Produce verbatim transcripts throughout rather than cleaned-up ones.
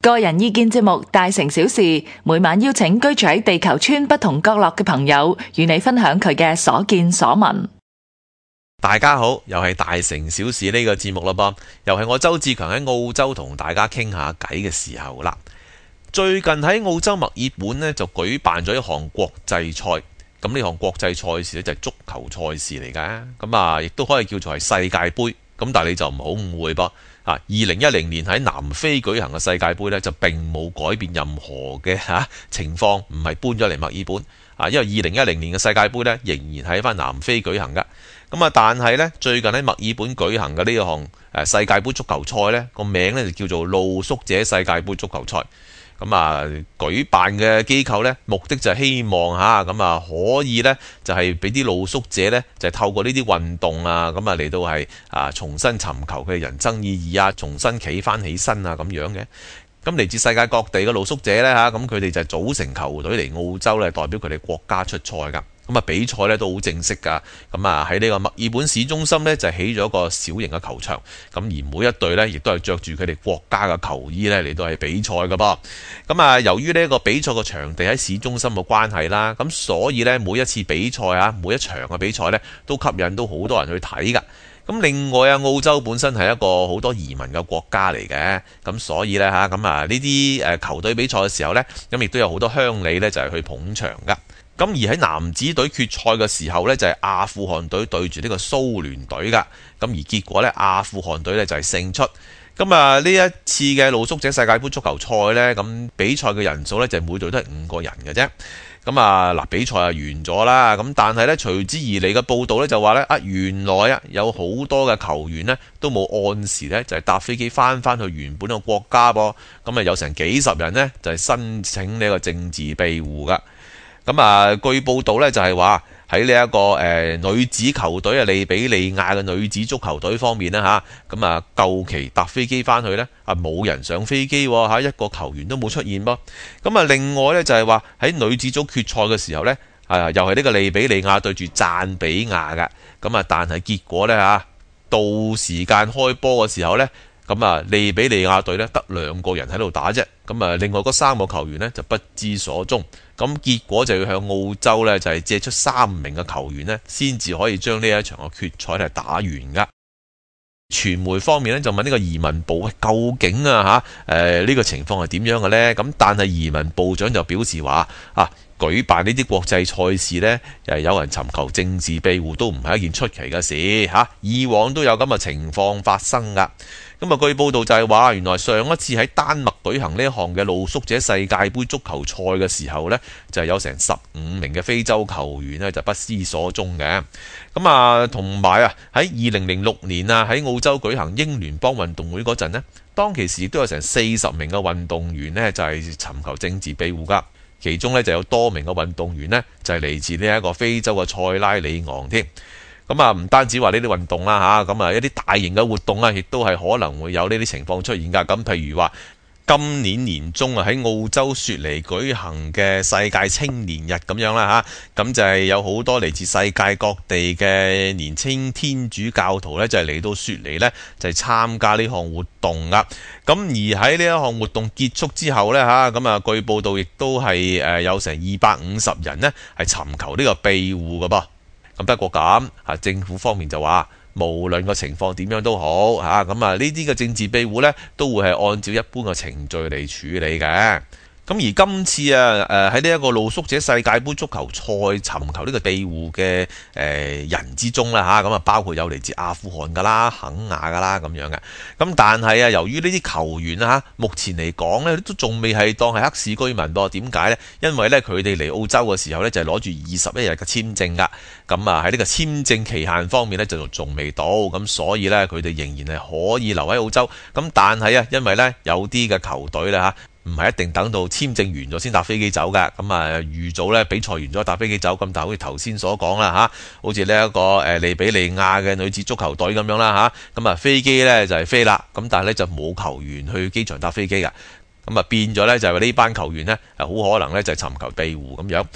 個人意見節目《大城小事》，每晚邀請居住喺地球村不同角落嘅朋友，與你分享佢嘅所見所聞。 大家好，又係大城小事呢個節目啦噃，又係我周志強喺澳洲同大家傾下偈嘅時候啦。最近喺澳洲墨爾本呢，就舉辦咗一項國際賽，咁呢項國際賽事呢，就係足球賽事嚟㗎，咁啊亦都可以叫做係世界盃。咁但係你就唔好誤會噃，啊，二零一零年喺南非舉行嘅世界盃呢，就並冇改變任何嘅嚇、啊、情況，唔係搬咗嚟墨爾本啊，因為二零一零年嘅世界盃呢，仍然喺翻南非舉行㗎。咁啊，但係呢，最近喺墨爾本舉行嘅呢項誒世界盃足球賽呢，個名呢就叫做露宿者世界盃足球賽。咁啊，舉辦嘅機構呢，目的就係希望嚇咁啊，可以呢，就係俾啲露宿者呢，就係透過呢啲運動啊，咁啊嚟到係啊重新尋求佢嘅人生意義啊，重新企翻起身啊咁樣嘅。咁嚟自世界各地嘅露宿者呢，嚇，咁佢哋就組成球隊嚟澳洲呢，代表佢哋國家出賽㗎。咁啊，比賽咧都好正式㗎。咁啊，喺呢個墨爾本市中心呢，就起咗一個小型嘅球場。咁而每一隊呢，亦都係着住佢哋國家嘅球衣呢嚟到係比賽㗎噃。咁啊，由於呢個比賽嘅場地喺市中心嘅關係啦，咁所以呢，每一次比賽啊，每一場嘅比賽呢，都吸引到好多人去睇㗎。咁另外啊，澳洲本身係一個好多移民嘅國家嚟嘅，咁所以呢，嚇咁啊呢啲誒球隊比賽嘅時候呢，咁亦都有好多鄉里呢，就係去捧場㗎。咁而喺男子隊決賽嘅時候呢，就係阿富汗隊對住呢個蘇聯隊㗎。咁而結果呢，阿富汗隊呢就係勝出。咁啊呢一次嘅露宿者世界盃足球賽呢，咁比賽嘅人數呢，就每隊都係五個人嘅啫。咁啊嗱，比賽啊完咗啦。咁但係呢，隨之而嚟嘅報道呢，就話呢，啊原來啊有好多嘅球員呢，都冇按時呢，就係搭飛機翻翻去原本嘅國家噃。咁啊有成幾十人呢，就係申請呢個政治庇護㗎。咁啊，據報道咧就係話喺呢一個誒、呃、女子球隊啊，利比里亞嘅女子足球隊方面呢，嚇，咁啊夠期搭飛機翻去呢，啊冇人上飛機喎嚇，一個球員都冇出現噃。咁啊另外呢，就係話喺女子組決賽嘅時候呢，啊又係呢個利比里亞對住贊比亞㗎。咁啊但係結果呢，嚇，到時間開波嘅時候呢，咁啊利比里亞隊呢得兩個人喺度打啫。咁啊另外嗰三個球員呢，就不知所蹤。咁結果就要向澳洲呢，就係借出三名嘅球員呢，先至可以將呢一場嘅決賽係打完噶。傳媒方面呢，就問呢個移民部究竟啊嚇誒呢個情況係點樣嘅呢？咁但係移民部長就表示話啊，舉辦呢啲國際賽事呢，誒有人尋求政治庇護都唔係一件出奇嘅事嚇，以往都有咁嘅情況發生噶。咁啊，據報道就係話，原來上一次喺丹麥舉行呢一項嘅露宿者世界盃足球賽嘅時候呢，就係有成十五名嘅非洲球員呢，就不知所蹤嘅。咁啊，同埋啊，喺二零零六年啊，喺澳洲舉行英聯邦運動會嗰陣呢，當其時亦都有成四十名嘅運動員呢，就係尋求政治庇護噶。其中呢，就有多名嘅運動員呢，就係嚟自呢一個非洲嘅塞拉利昂添。咁啊，唔單止話呢啲運動啦嚇，咁啊一啲大型嘅活動啊，亦都係可能會有呢啲情況出現㗎。咁譬如話，今年年中啊喺澳洲雪梨舉行嘅世界青年日咁樣啦嚇，咁就係有好多嚟自世界各地嘅年輕天主教徒呢，就係嚟到雪梨呢，就係參加呢項活動㗎。咁而喺呢一項活動結束之後呢，嚇，咁啊據報道亦都係誒有成二百五十人呢，係尋求呢個庇護㗎噃。咁不過咁啊，政府方面就話，無論個情況點樣都好嚇，咁啊呢啲嘅政治庇護呢，都會係按照一般嘅程序嚟處理嘅。咁而今次啊，誒喺呢一個露宿者世界盃足球賽尋求呢個庇護嘅誒、呃、人之中啦嚇，咁啊包括有嚟自阿富汗噶啦、肯亞噶啦咁樣嘅。咁但係啊，由於呢啲球員啊嚇，目前嚟講呢，都仲未係當係黑市居民噃。點解呢？因為呢，佢哋嚟澳洲嘅時候呢，就係攞住二十一日嘅簽證噶。咁啊喺呢個簽證期限方面呢，就仲未到，咁所以呢，佢哋仍然係可以留喺澳洲。咁但係啊，因為呢，有啲嘅球隊咧嚇，唔係一定等到簽證完咗先搭飛機走㗎，咁啊預早咧比賽完咗搭飛機走，咁但係好似頭先所講啦嚇，好似呢一個誒利比里亞嘅女子足球隊咁樣啦嚇，咁啊飛機咧就係飛啦，咁但係咧就冇球員去機場搭飛機㗎，咁啊變咗咧就係呢班球員咧好可能咧就係尋求庇護咁樣。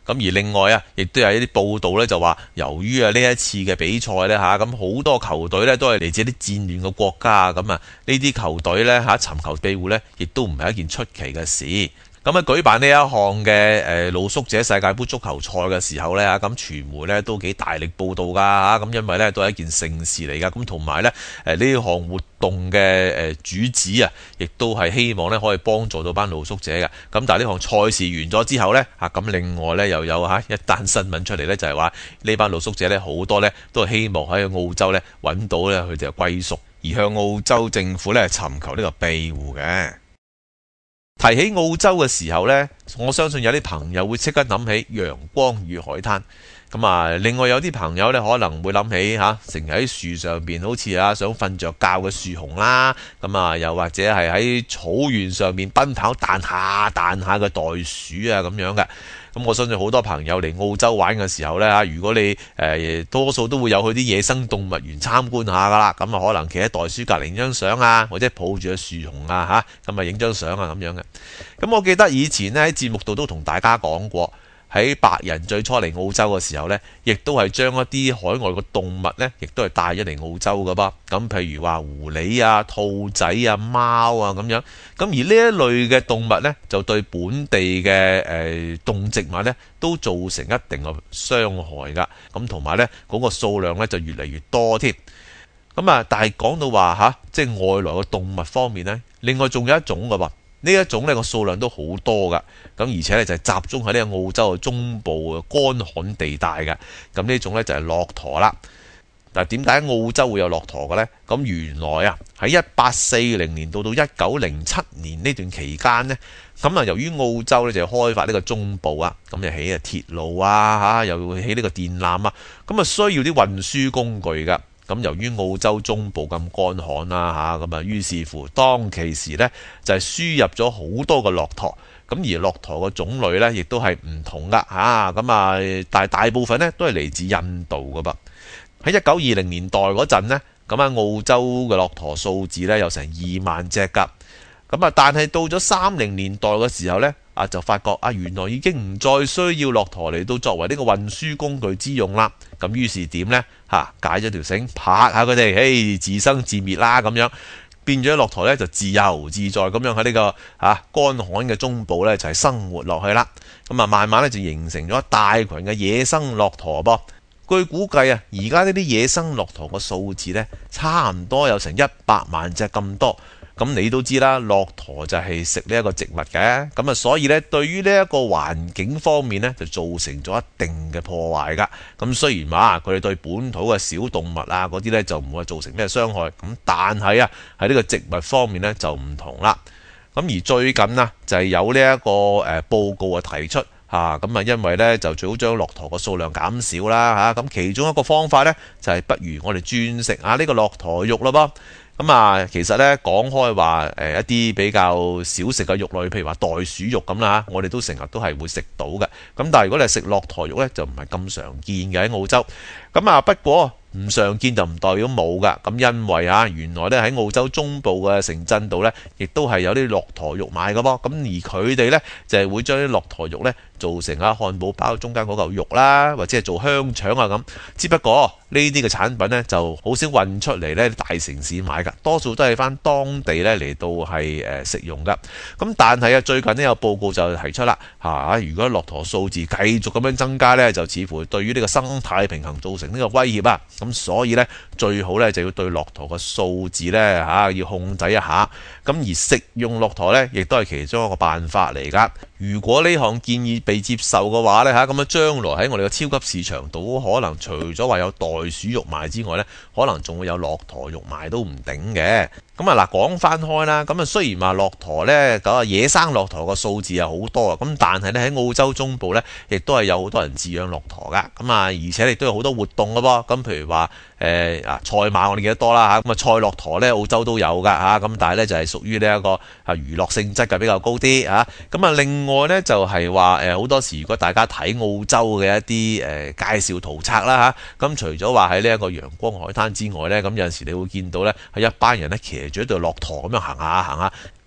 咁而另外啊，亦都有一啲報道咧，就話由於啊呢一次嘅比賽咧嚇，咁好多球隊咧都係嚟自啲戰亂嘅國家啊，咁啊呢啲球隊咧嚇尋求庇護咧，亦都唔係一件出奇嘅事。咁啊舉辦呢一項嘅誒露宿者世界盃足球賽嘅時候咧嚇，咁傳媒咧都幾大力報導㗎嚇，咁因為咧都係一件盛事嚟㗎，咁同埋咧誒呢項活動嘅誒主旨啊，亦都係希望咧可以幫助到班露宿者嘅。咁但係呢項賽事完咗之後咧嚇，咁另外咧又有嚇一單新聞出嚟咧，就係話呢班露宿者咧好多咧都係希望喺澳洲咧揾到咧佢哋嘅歸宿，而向澳洲政府咧尋求呢個庇護嘅。提起澳洲嘅時候呢，我相信有啲朋友會即刻諗起陽光與海灘。咁啊，另外有啲朋友呢可能會諗起嚇，成日喺樹上邊好似啊想瞓着覺嘅樹熊啦。咁啊，又或者係喺草原上面奔跑彈下彈下嘅袋鼠啊咁樣嘅。咁我相信好多朋友嚟澳洲玩嘅時候呢，嚇，如果你誒、呃、多數都會有去啲野生動物園參觀下噶啦。咁啊，可能企喺袋鼠隔離影張相啊，或者抱住個樹熊啊嚇，咁啊影張相啊咁樣嘅。咁我記得以前呢喺節目度都同大家講過。喺白人最初嚟澳洲嘅時候呢，亦都係將一啲海外嘅動物呢，亦都係帶咗嚟澳洲㗎噃。咁譬如話狐狸啊、兔仔啊、貓啊咁樣。咁而呢一類嘅動物呢，就對本地嘅誒、呃、動植物呢，都造成一定嘅傷害㗎。咁同埋呢，嗰、嗰個數量呢，就越嚟越多添。咁啊，但係講到話嚇，即係外來嘅動物方面呢，另外仲有一種㗎噃。呢一種呢個數量都好多㗎，咁而且呢就係集中喺呢個澳洲嘅中部嘅乾旱地帶嘅，咁呢種呢就係駱駝啦。但係點解澳洲會有駱駝嘅呢？咁原來啊喺一八四零年到到一九零七年呢段期間呢，咁啊由於澳洲呢就開發呢個中部啊，咁就起啊鐵路啊嚇，又會起呢個電纜啊，咁啊需要啲運輸工具㗎。咁由於澳洲中部咁乾旱啦嚇，咁啊於是乎當其時呢，就係輸入咗好多個駱駝，咁而駱駝嘅種類呢，亦都係唔同噶嚇，咁啊但係大部分呢，都係嚟自印度噶噃。喺一九二零年代嗰陣呢，咁啊澳洲嘅駱駝數字呢，有成二萬隻噶，咁啊但係到咗三零年代嘅時候呢，啊就發覺啊原來已經唔再需要駱駝嚟到作為呢個運輸工具之用啦。咁於是點呢？嚇解咗條繩，拍下佢哋，嘿自生自滅啦咁樣，變咗駱駝咧就自由自在咁樣喺呢個嚇乾旱嘅中部咧就係生活落去啦。咁啊慢慢咧就形成咗一大群嘅野生駱駝噃。據估計啊，而家呢啲野生駱駝嘅數字咧差唔多有成一百萬隻咁多。咁你都知啦，駱駝就係食呢一個植物嘅，咁啊所以呢，對於呢一個環境方面呢，就造成咗一定嘅破壞噶。咁雖然話佢哋對本土嘅小動物啊嗰啲呢，就唔會造成咩傷害，咁但係啊喺呢個植物方面呢，就唔同啦。咁而最近啊就係有呢一個誒報告啊提出嚇，咁啊因為呢，就最好將駱駝個數量減少啦嚇，咁其中一個方法呢，就係不如我哋轉食啊呢個駱駝肉咯噃。咁啊，其實咧講開話誒一啲比較少食嘅肉類，譬如話袋鼠肉咁啦，我哋都成日都係會食到嘅。咁但係如果你係食駱駝肉咧，就唔係咁常見嘅喺澳洲。咁啊，不過唔常見就唔代表冇噶。咁因為啊，原來咧喺澳洲中部嘅城鎮度咧，亦都係有啲駱駝肉賣嘅噃。咁而佢哋咧就係會將啲駱駝肉咧做成啊漢堡包中間嗰嚿肉啦，或者係做香腸啊咁。只不過呢啲嘅產品咧就好少運出嚟咧大城市買㗎，多數都係翻當地咧嚟到係誒食用㗎。咁但係啊，最近呢有報告就提出啦嚇，如果駱駝數字繼續咁樣增加咧，就似乎對於呢個生態平衡造成呢個威脅啊。咁所以咧最好咧就要對駱駝嘅數字咧嚇要控制一下。咁而食用駱駝咧，亦都係其中一個辦法嚟㗎。如果呢項建議被接受嘅話呢，嚇，咁啊將來喺我哋嘅超級市場度，可能除咗話有袋鼠肉賣之外呢，可能仲會有駱駝肉賣都唔頂嘅。咁啊嗱，講翻開啦，咁啊雖然話駱駝呢，咁啊野生駱駝個數字係好多啊，咁但係呢，喺澳洲中部呢，亦都係有好多人飼養駱駝噶。咁啊而且亦都有好多活動嘅噃。咁譬如話誒啊賽馬我哋記得多啦嚇，咁啊賽駱駝呢，澳洲都有噶嚇，咁但係呢，就係屬於呢一個啊娛樂性質嘅比較高啲嚇。咁啊另外呢，就係話誒好多時如果大家睇澳洲嘅一啲誒、呃、介紹圖冊啦嚇，咁、啊、除咗話喺呢一個陽光海灘之外呢，咁有陣時你會見到呢，係一班人呢騎住一對駱駝咁樣行下行下。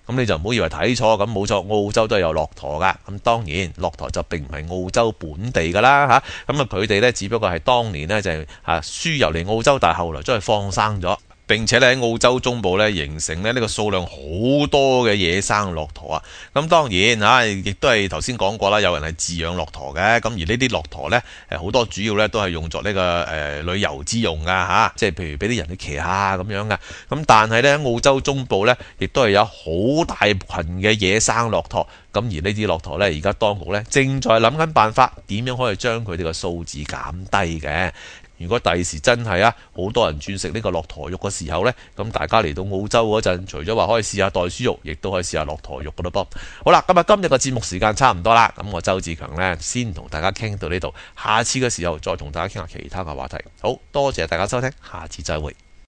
咁你就唔好以為睇錯，咁冇錯，澳洲都係有駱駝噶。咁當然駱駝就並唔係澳洲本地噶啦嚇，咁啊佢哋呢，只不過係當年呢，就係嚇輸入嚟澳洲，但係後來將佢放生咗。並且咧喺澳洲中部咧形成咧呢個數量好多嘅野生駱駝啊！咁當然嚇，亦都係頭先講過啦，有人係飼養駱駝嘅。咁而呢啲駱駝咧，誒好多主要咧都係用作呢個誒旅遊之用噶嚇，即係譬如俾啲人去騎下咁樣嘅。咁但係咧喺澳洲中部咧，亦都係有好大群嘅野生駱駝。咁而呢啲駱駝咧，而家當局咧正在諗緊辦法，點樣可以將佢哋嘅數字減低嘅。如果第時真係啊，好多人轉食呢個駱駝肉嘅時候呢，咁大家嚟到澳洲嗰陣，除咗話可以試下袋鼠肉，亦都可以試下駱駝肉噶咯噃。好啦，咁啊今日嘅節目時間差唔多啦，咁我周志強呢，先同大家傾到呢度，下次嘅時候再同大家傾下其他嘅話題。好多謝大家收聽，下次再會。